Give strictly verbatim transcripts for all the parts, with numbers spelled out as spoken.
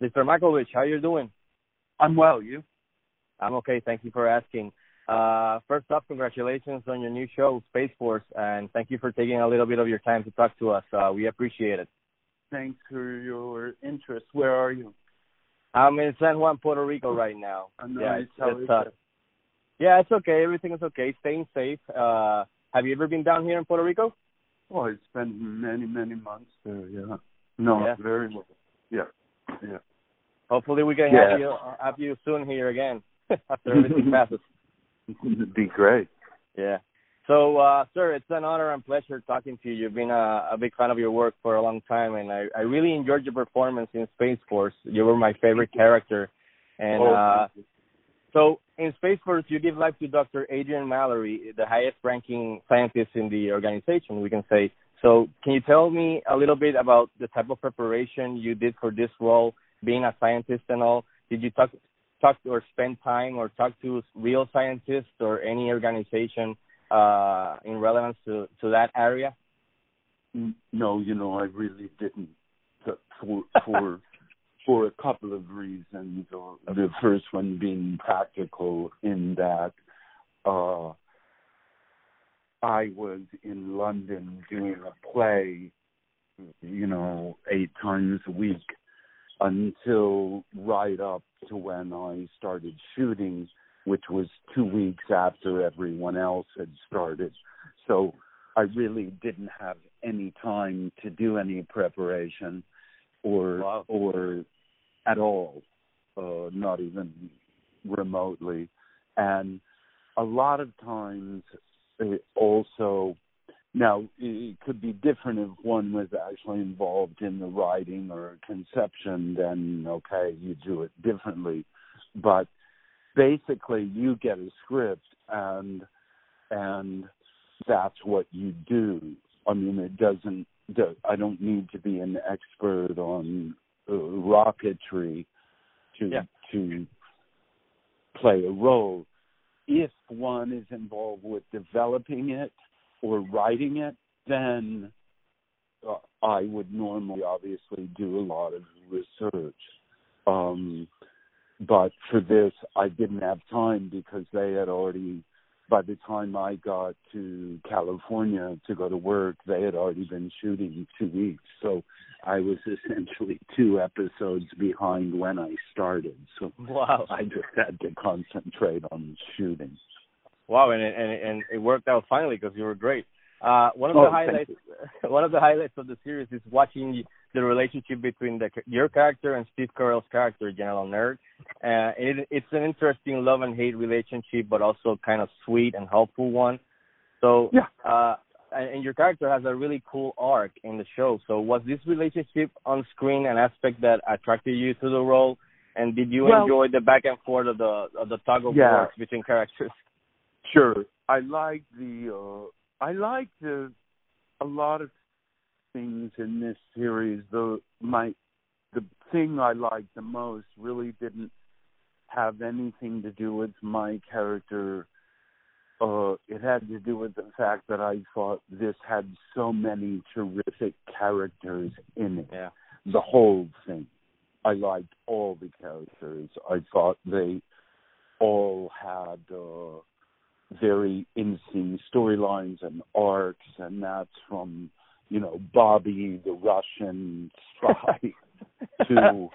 Mister Makovich, how you doing? I'm well. You? I'm okay. Thank you for asking. Uh, first off, congratulations on your new show, Space Force, and thank you for taking a little bit of your time to talk to us. Uh, we appreciate it. Thanks for your interest. Where are you? I'm in San Juan, Puerto Rico right now. I'm yeah, nice. it's, How it's, is uh, it? yeah, it's okay. Everything is okay. Staying safe. Uh, have you ever been down here in Puerto Rico? Oh, I spent many, many months there. Yeah. No, Yeah. very well. Yeah. Yeah. Hopefully, we can Yeah. have you have you soon here again after everything passes. It'd be great. Yeah. So, uh, sir, it's an honor and pleasure talking to you. You've been a, a big fan of your work for a long time, and I, I really enjoyed your performance in Space Force. You were my favorite character. And oh, uh, so in Space Force, you give life to Doctor Adrian Mallory, the highest-ranking scientist in the organization, we can say. So can you tell me a little bit about the type of preparation you did for this role, being a scientist and all? Did you talk, talk or spend time or talk to real scientists or any organization uh, in relevance to, to that area? No, you know, I really didn't. For for for a couple of reasons. The first one being practical, in that uh, I was in London doing a play, you know, eight times a week until right up to when I started shooting, which was two weeks after everyone else had started. So I really didn't have any time to do any preparation or Wow. or at all, uh, not even remotely. And a lot of times it also, now it could be different if one was actually involved in the writing or conception, then okay, you do it differently. But basically you get a script and and that's what you do. I mean, it doesn't, I don't need to be an expert on uh, rocketry to Yeah. to play a role. If one is involved with developing it or writing it, then uh, I would normally obviously do a lot of research. Um, but for this, I didn't have time because they had already, by the time I got to California to go to work, they had already been shooting two weeks. So I was essentially two episodes behind when I started. So Wow. I just had to concentrate on shooting. Wow, and and and it worked out finally because you were great. Uh, one of the Oh, highlights, one of the highlights of the series is watching the relationship between the, your character and Steve Carell's character, General Nerd. Uh, it, it's an interesting love and hate relationship, but also kind of sweet and helpful one. So, Yeah. uh, and, and your character has a really cool arc in the show. So, was this relationship on screen an aspect that attracted you to the role? And did you Well, enjoy the back and forth of the of the tug of yeah. war between characters? Sure. I like the, uh, I like the, a lot of things in this series. The, my, the thing I liked the most really didn't have anything to do with my character. Uh, it had to do with the fact that I thought this had so many terrific characters in it. Yeah. The whole thing. I liked all the characters. I thought they all had uh, very interesting storylines and arcs, and that's from, you know, Bobby, the Russian spy, to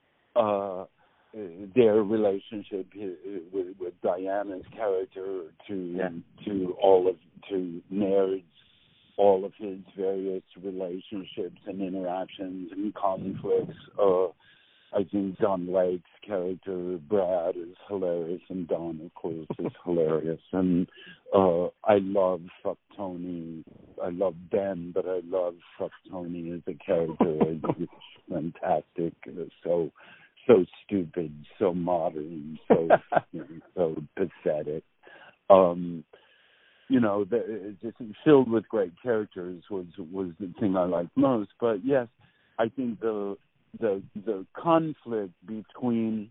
uh, their relationship with, with Diana's character, to Yeah. to all of to Nerd's, all of his various relationships and interactions and conflicts. Uh, I think Don Lake's character, Brad, is hilarious, and Don, of course, is hilarious. And uh, I love Fuck Tony. I love Ben, but I love Fuck Tony as a character. It's fantastic. So, so stupid, so modern, so you know, so pathetic. Um, you know, the, just filled with great characters was was the thing I liked most. But yes, I think the the the conflict between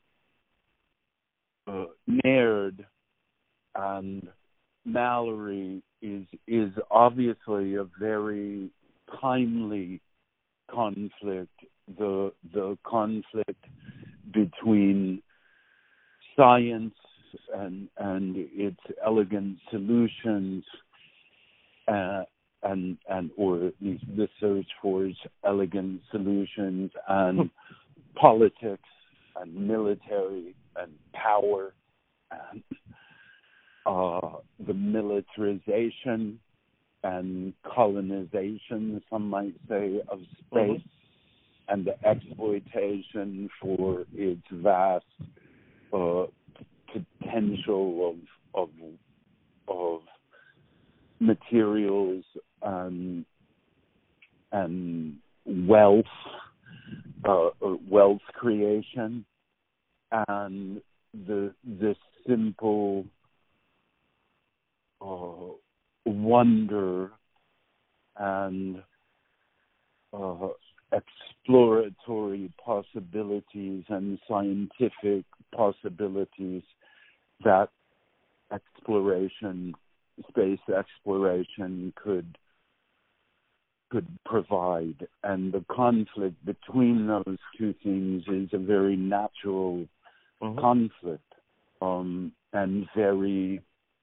uh, Nerd and Mallory is is obviously a very timely conflict the the conflict between science and and its elegant solutions, uh, and and or at least the search for its elegant solutions, and politics and military and power, and uh, the militarization and colonization, some might say, of space, mm-hmm. and the exploitation for its vast uh, potential of of of materials and and wealth, uh, wealth creation, and the the simple uh, wonder and uh, exploratory possibilities and scientific possibilities that exploration, space exploration could could provide. And the conflict between those two things is a very natural mm-hmm. conflict, um, and very,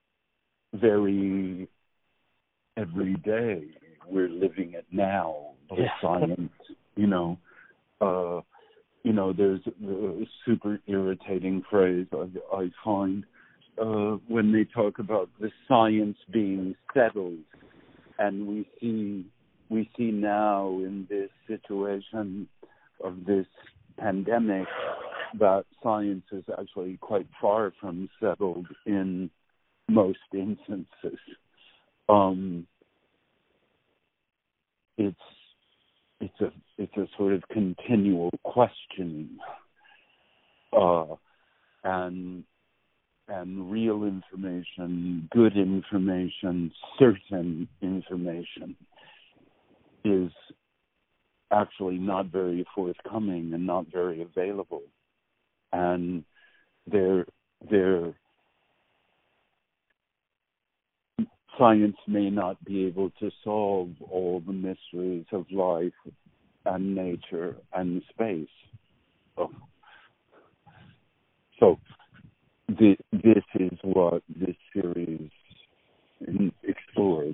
very everyday. We're living it now. The yeah. science, you know, uh, you know, there's a super irritating phrase I, I find uh, when they talk about the science being settled, and we see we see now in this situation of this pandemic that science is actually quite far from settled in most instances. Um, it's it's a it's a sort of continual questioning, uh, and and real information, good information, certain information is actually not very forthcoming and not very available, and there there. Science may not be able to solve all the mysteries of life and nature and space. So, so this, this is what this series explores.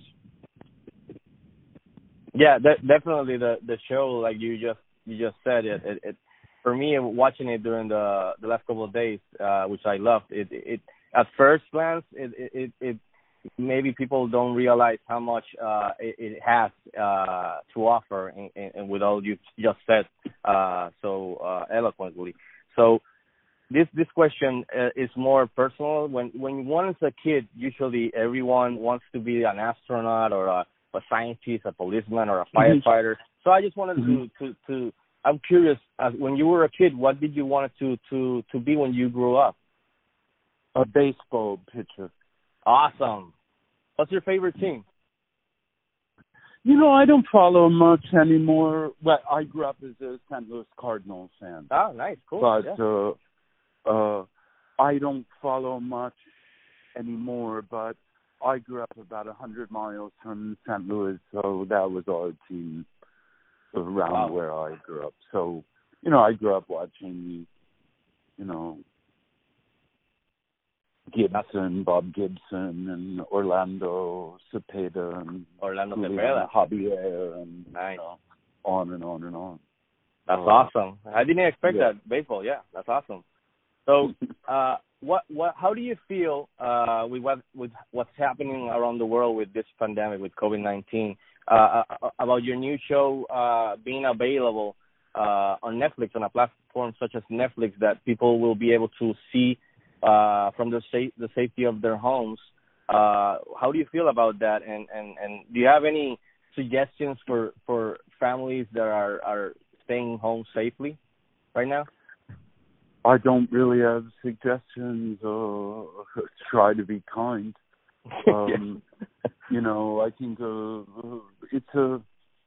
Yeah, that, definitely the the show, like you just you just said, it, it, it for me watching it during the the last couple of days, uh, which I loved. It it at first glance, it it it. maybe people don't realize how much uh, it, it has uh, to offer, and, and with all you just said uh, so uh, eloquently. So this this question uh, is more personal. When when one is a kid, usually everyone wants to be an astronaut or a, a scientist, a policeman, or a firefighter. Mm-hmm. So I just wanted mm-hmm. to, to to I'm curious. Uh, when you were a kid, what did you want to to to be when you grew up? A baseball pitcher. Awesome. What's your favorite team? You know, I don't follow much anymore. Well, I grew up as a Saint Louis Cardinals fan. Oh, nice, cool. But yeah. uh, uh, I don't follow much anymore. But I grew up about a hundred miles from Saint Louis, so that was our team around wow. where I grew up. So, you know, I grew up watching, you know, Gibson, Bob Gibson, and Orlando Cepeda, and Orlando Cepeda, Javier, and nice. You know, on and on and on. That's uh, awesome. I didn't expect yeah. that baseball. Yeah, that's awesome. So, uh, what, what, how do you feel uh, with what, with what's happening around the world with this pandemic, with COVID nineteen, uh, about your new show uh, being available uh, on Netflix, on a platform such as Netflix, that people will be able to see Uh, from the safe, the safety of their homes? Uh, how do you feel about that? And, and, and do you have any suggestions for, for families that are, are staying home safely right now? I don't really have suggestions. Uh, try to be kind. Um, you know, I think uh, it's a.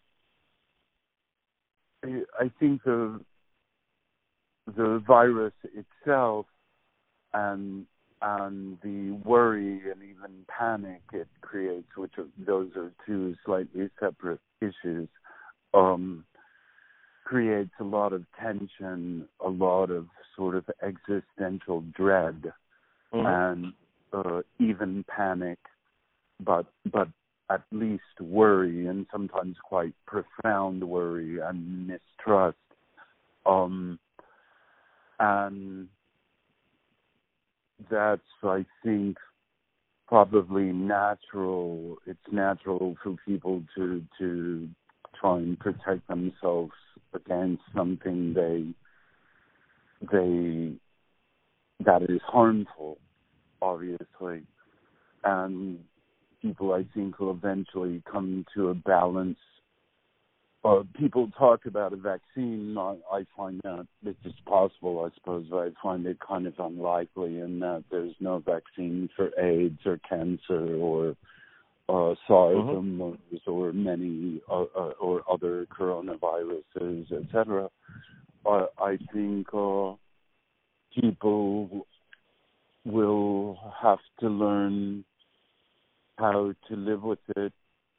I think the the virus itself, and and the worry and even panic it creates, which are, those are two slightly separate issues, um, creates a lot of tension, a lot of sort of existential dread, mm-hmm. and uh, even panic, but but at least worry, and sometimes quite profound worry and mistrust. Um, and that's, I think, probably natural. It's natural for people to to try and protect themselves against something they they that is harmful, obviously. And people, I think, will eventually come to a balance. Uh, people talk about a vaccine. I, I find that it is possible, I suppose, but I find it kind of unlikely in that there's no vaccine for AIDS or cancer or uh, SARS mm-hmm. or MERS or many uh, uh, or other coronaviruses, et cetera. Uh, I think uh, people will have to learn how to live with it.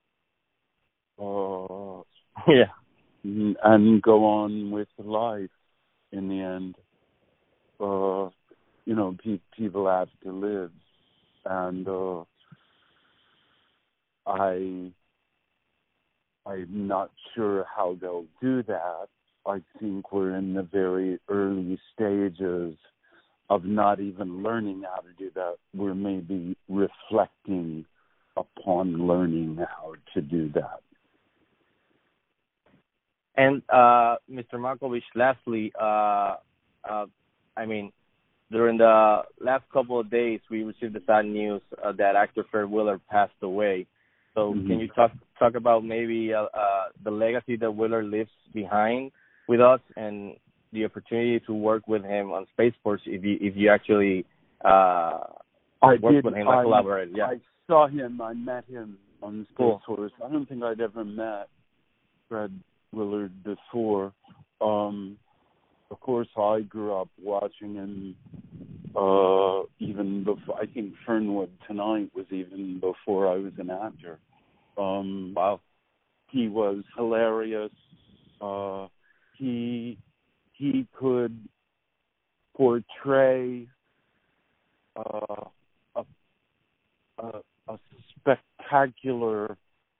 Uh, yeah. And go on with life in the end. Uh, you know, pe- people have to live. And uh, I, I'm not sure how they'll do that. I think we're in the very early stages of not even learning how to do that. We're maybe reflecting upon learning how to do that. And uh, Mister Markovich, lastly, uh, uh, I mean, during the last couple of days, we received the sad news uh, that actor Fred Willard passed away. So mm-hmm. can you talk talk about maybe uh, uh, the legacy that Willard leaves behind with us and the opportunity to work with him on Space Force if you if you actually uh, I worked did, with him, I, like collaborated? Yeah. I saw him. I met him on Space cool. Force. I don't think I'd ever met Fred Willard before. Um, of course, I grew up watching him uh, even before. I think Fernwood Tonight was even before I was an actor. Um, wow. He was hilarious. Uh, he he could portray uh, a, a a spectacular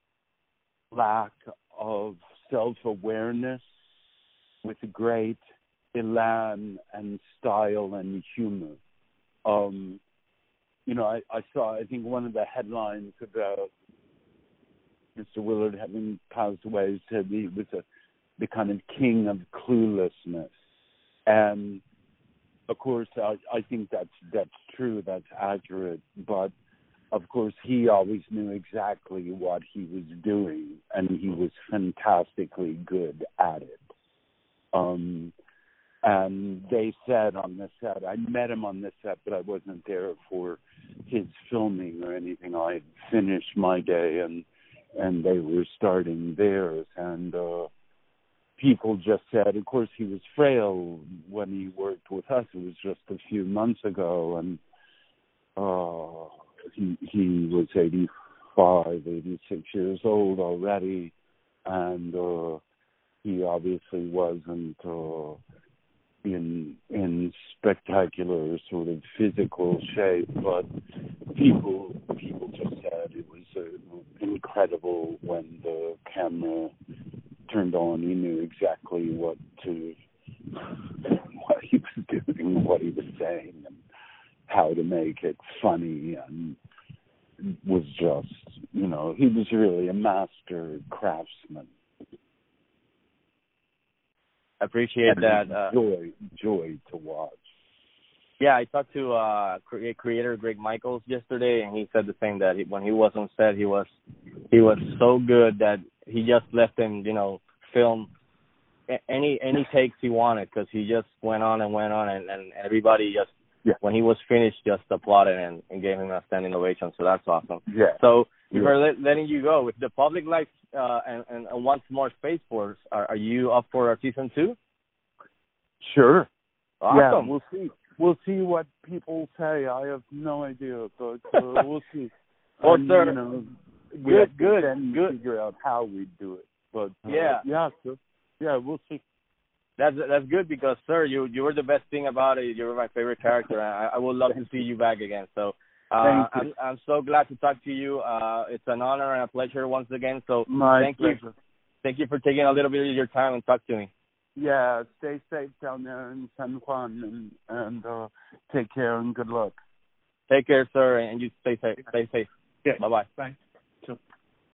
lack of self-awareness with great elan and style and humor. Um, you know, I, I saw, I think one of the headlines about Mister Willard having passed away said he was a, the kind of king of cluelessness. And, of course, I, I think that's, that's true, that's accurate, but of course, he always knew exactly what he was doing, and he was fantastically good at it. Um, and they said on the set, I met him on the set, but I wasn't there for his filming or anything. I had finished my day, and and they were starting theirs. And uh, people just said, of course, he was frail when he worked with us. It was just a few months ago, and uh, he he was eighty-five, eighty-six years old already, and uh, he obviously wasn't uh, in in spectacular sort of physical shape, but people people just said it was uh, incredible when the camera turned on. He knew exactly what to what he was doing, what he was saying, and how to make it funny, and was just, you know, he was really a master craftsman. I appreciate and that. Uh, joy, joy to watch. Yeah, I talked to uh, creator Greg Michaels yesterday, and he said the same, that he, when he was on set, he was he was so good that he just let him, you know, film any any takes he wanted, because he just went on and went on, and, and everybody just, yeah. when he was finished, just applauded and, and gave him a standing ovation. So that's awesome. Yeah. So before yeah. let, letting you go, if the public likes uh, and, and, and wants more Space Force, are, are you up for a season two? Sure. Awesome. Yeah, we'll see. We'll see what people say. I have no idea, but uh, we'll see. Well, and, sir, you know, good, good, then good. Figure out how we do it. But uh, yeah, yeah, so, yeah, we'll see. That's that's good because, sir, you you were the best thing about it. You were my favorite character. I, I would love to see you back again. So uh, I'm I'm so glad to talk to you. Uh, it's an honor and a pleasure once again. So my thank pleasure. you, thank you for taking a little bit of your time and talk to me. Yeah, stay safe down there in San Juan, and and uh, take care and good luck. Take care, sir, and you stay safe. Stay safe. Yeah. Bye bye. Bye. Sure.